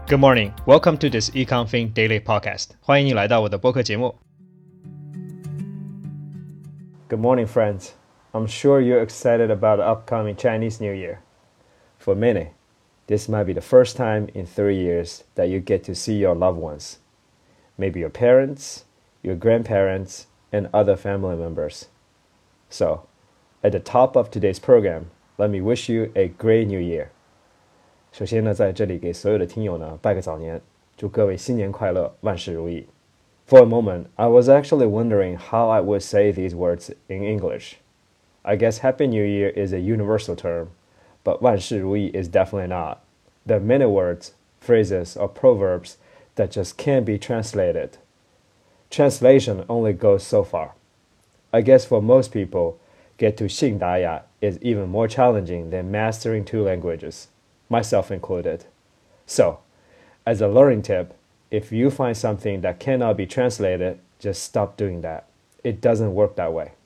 Good morning. Welcome to this EconFin Daily Podcast. 欢迎你来到我的播客节目。Good morning, friends. I'm sure you're excited about the upcoming Chinese New Year. For many, this might be the first time in 3 years that you get to see your loved ones. Maybe your parents, your grandparents, and other family members. So, at the top of today's program, let me wish you a great new year. 首先呢，在这里给所有的听友呢拜个早年，祝各位新年快乐，万事如意。For a moment, I was actually wondering how I would say these words in English. I guess Happy New Year is a universal term, but 万事如意 is definitely not. There are many words, phrases, or proverbs that just can't be translated. Translation only goes so far. I guess for most people, get to 信达雅 is even more challenging than mastering 2 languages. Myself included. So, as a learning tip, if you find something that cannot be translated, just stop doing that. It doesn't work that way.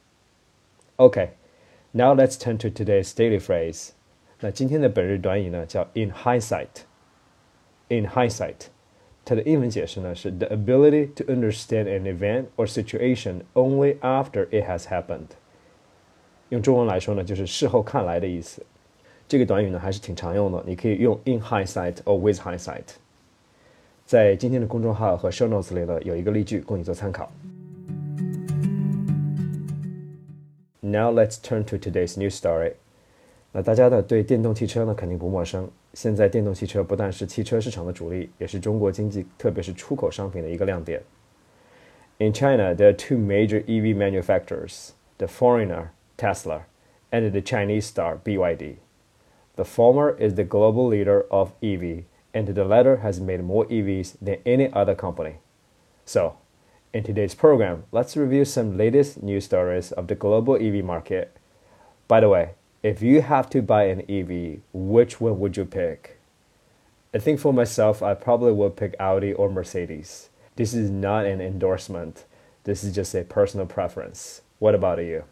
Okay, now let's turn to today's daily phrase. 那今天的本日短语呢，叫 in hindsight. In hindsight, 它的英文解释呢是 the ability to understand an event or situation only after it has happened. 用中文来说呢，就是事后看来的意思。这个短语呢还是挺常用的，你可以用 in hindsight or with hindsight。在今天的公众号和 show notes 里呢有一个例句供你做参考。Now let's turn to today's news story。那大家呢对电动汽车呢肯定不陌生，现在电动汽车不但是汽车市场的主力，也是中国经济特别是出口商品的一个亮点。In China, there are 2 major EV manufacturers, the foreigner Tesla and the Chinese star BYD.The former is the global leader of EV, and the latter has made more EVs than any other company. So, in today's program, let's review some latest news stories of the global EV market. By the way, if you have to buy an EV, which one would you pick? I think for myself, I probably would pick Audi or Mercedes. This is not an endorsement. This is just a personal preference. What about you?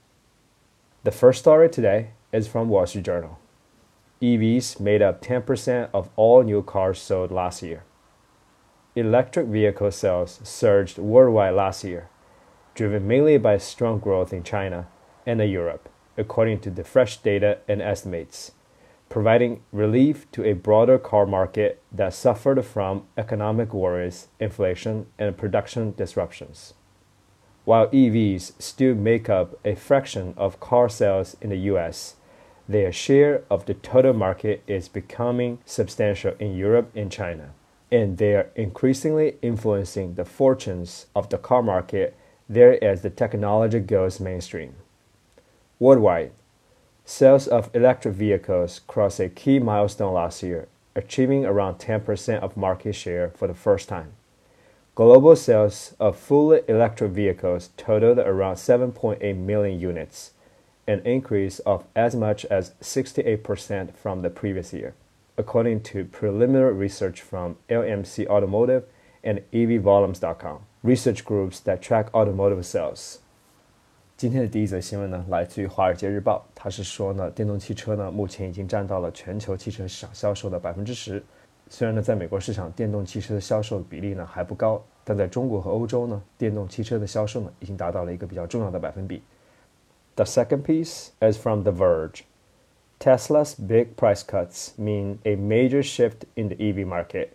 The first story today is from Wall Street Journal.EVs made up 10% of all new cars sold last year. Electric vehicle sales surged worldwide last year, driven mainly by strong growth in China and Europe, according to the fresh data and estimates, providing relief to a broader car market that suffered from economic worries, inflation, and production disruptions. While EVs still make up a fraction of car sales in the US,Their share of the total market is becoming substantial in Europe and China, and they are increasingly influencing the fortunes of the car market there as the technology goes mainstream. Worldwide, sales of electric vehicles crossed a key milestone last year, achieving around 10% of market share for the first time. Global sales of fully electric vehicles totaled around 7.8 million units,an increase of as much as 68% from the previous year, according to preliminary research from LMC Automotive and EVvolumes.com, research groups that track automotive sales. 今天的第一则新闻呢，来自于《华尔街日报》，它是说呢，电动汽车呢，目前已经占到了全球汽车市场销售的 10%。虽然呢，在美国市场电动汽车的销售比例呢还不高，但在中国和欧洲呢，电动汽车的销售呢，已经达到了一个比较重要的百分比。The second piece is from The Verge. Tesla's big price cuts mean a major shift in the EV market.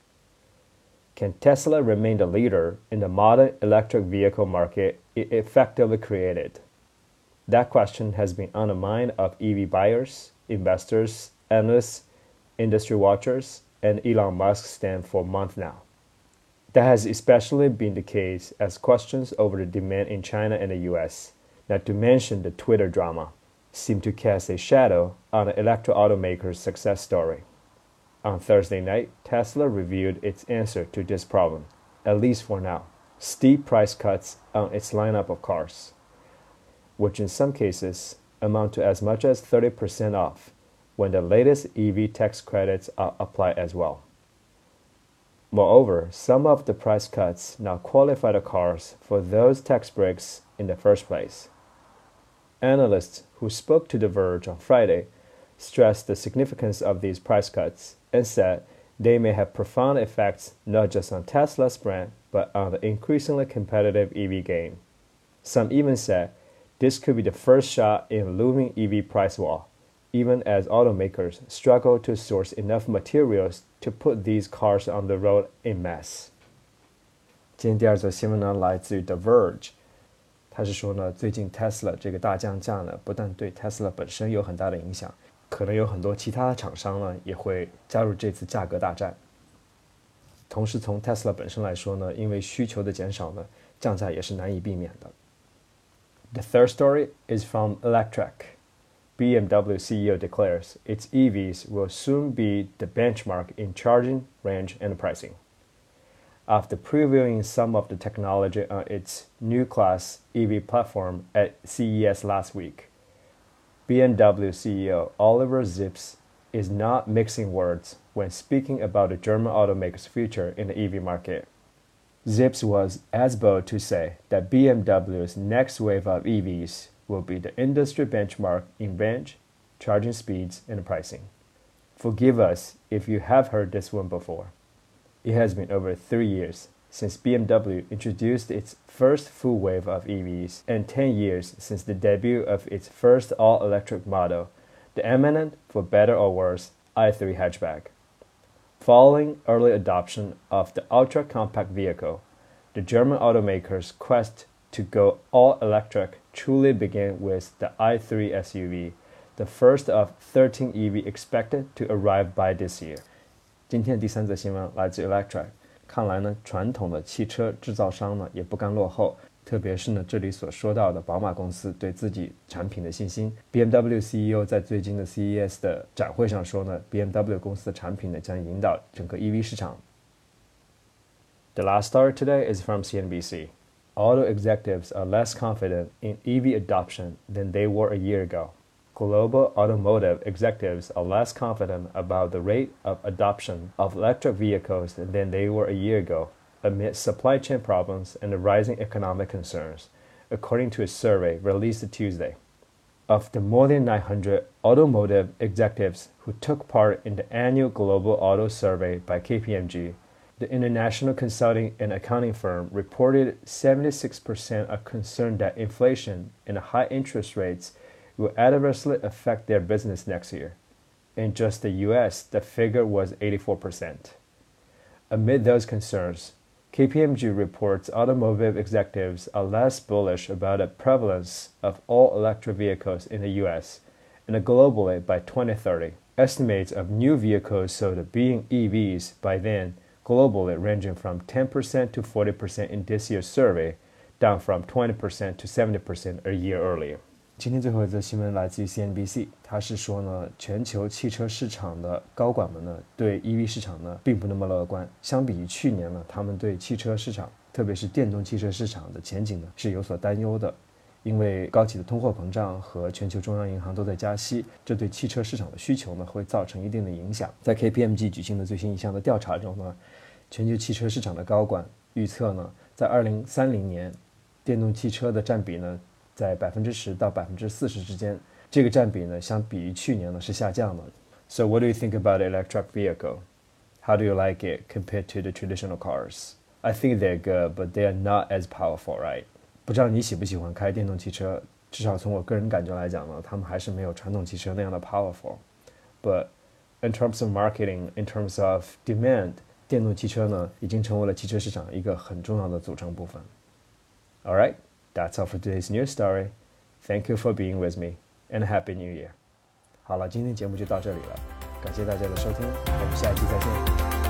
Can Tesla remain the leader in the modern electric vehicle market it effectively created? That question has been on the mind of EV buyers, investors, analysts, industry watchers, and Elon Musk's stand for months now. That has especially been the case as questions over the demand in China and the US,not to mention the Twitter drama, seem to cast a shadow on the electric automaker's success story. On Thursday night, Tesla revealed its answer to this problem, at least for now, steep price cuts on its lineup of cars, which in some cases amount to as much as 30% off when the latest EV tax credits are applied as well. Moreover, some of the price cuts now qualify the cars for those tax breaks in the first place. Analysts who spoke to The Verge on Friday stressed the significance of these price cuts and said they may have profound effects not just on Tesla's brand, but on the increasingly competitive EV game. Some even said this could be the first shot in a looming EV price war, even as automakers struggle to source enough materials to put these cars on the road en masse. 今天第二则新闻呢，来自于 The Verge， 他是说呢，最近 Tesla 这个大降价呢，不但对 Tesla 本身有很大的影响，可能有很多其他的厂商呢也会加入这次价格大战。同时从 Tesla 本身来说呢，因为需求的减少呢，降价也是难以避免的。The third story is from Electrek. BMW CEO declares its EVs will soon be the benchmark in charging, range, and pricing. After previewing some of the technology on its new class EV platform at CES last week, BMW CEO Oliver Zipse is not mixing words when speaking about the German automaker's future in the EV market. Zipse was as bold to say that BMW's next wave of EVs will be the industry benchmark in range, charging speeds, and pricing. Forgive us if you have heard this one before. It has been over 3 years since BMW introduced its first full wave of EVs and 10 years since the debut of its first all-electric model, the eminent, for better or worse, i3 hatchback. Following early adoption of the ultra-compact vehicle, the German automaker's quest to go all-electric truly began with the i3 SUV, the first of 13 EV expected to arrive by this year. 今天第三则新闻来自 Electrek， 看来呢，传统的汽车制造商呢也不甘落后，特别是呢这里所说到的宝马公司对自己产品的信心。BMW CEO 在最近的 CES 的展会上说呢 ，BMW 公司的产品呢将引导整个 EV 市场。The last story today is from CNBC. Auto executives are less confident in EV adoption than they were a year ago. Global automotive executives are less confident about the rate of adoption of electric vehicles than they were a year ago, amid supply chain problems and the rising economic concerns, according to a survey released Tuesday. Of the more than 900 automotive executives who took part in the annual Global Auto Survey by KPMG, the international consulting and accounting firm reported 76% are concerned that inflation and high interest rates will adversely affect their business next year. In just the US, the figure was 84%. Amid those concerns, KPMG reports automotive executives are less bullish about the prevalence of all-electric vehicles in the US and globally by 2030. Estimates of new vehicles sold being EVs by then globally ranging from 10% to 40% in this year's survey, down from 20% to 70% a year earlier. 今天最后一则新闻来自于 CNBC， 他是说呢，全球汽车市场的高管们呢，对 EV 市场呢，并不那么乐观。相比于去年呢，他们对汽车市场，特别是电动汽车市场的前景呢，是有所担忧的。因为高企的通货膨胀和全球中央银行都在加息，这对汽车市场的需求呢，会造成一定的影响。在 KPMG 举行的最新一项的调查中呢，全球汽车市场的高管预测呢，在2030年，电动汽车的占比呢，在10%到40%之间，这个占比呢，相比于去年呢是下降的。So what do you think about the electric vehicle? How do you like it compared to the traditional cars? I think they're good, but they are not as powerful, right? 不知道你喜不喜欢开电动汽车，至少从我个人感觉来讲呢，他们还是没有传统汽车那样的 powerful. But in terms of marketing, in terms of demand, 电动汽车呢，已经成为了汽车市场一个很重要的组成部分。All right, that's all for today's news story. Thank you for being with me, and Happy New Year. 好了，今天节目就到这里了，感谢大家的收听，我们下一期再见。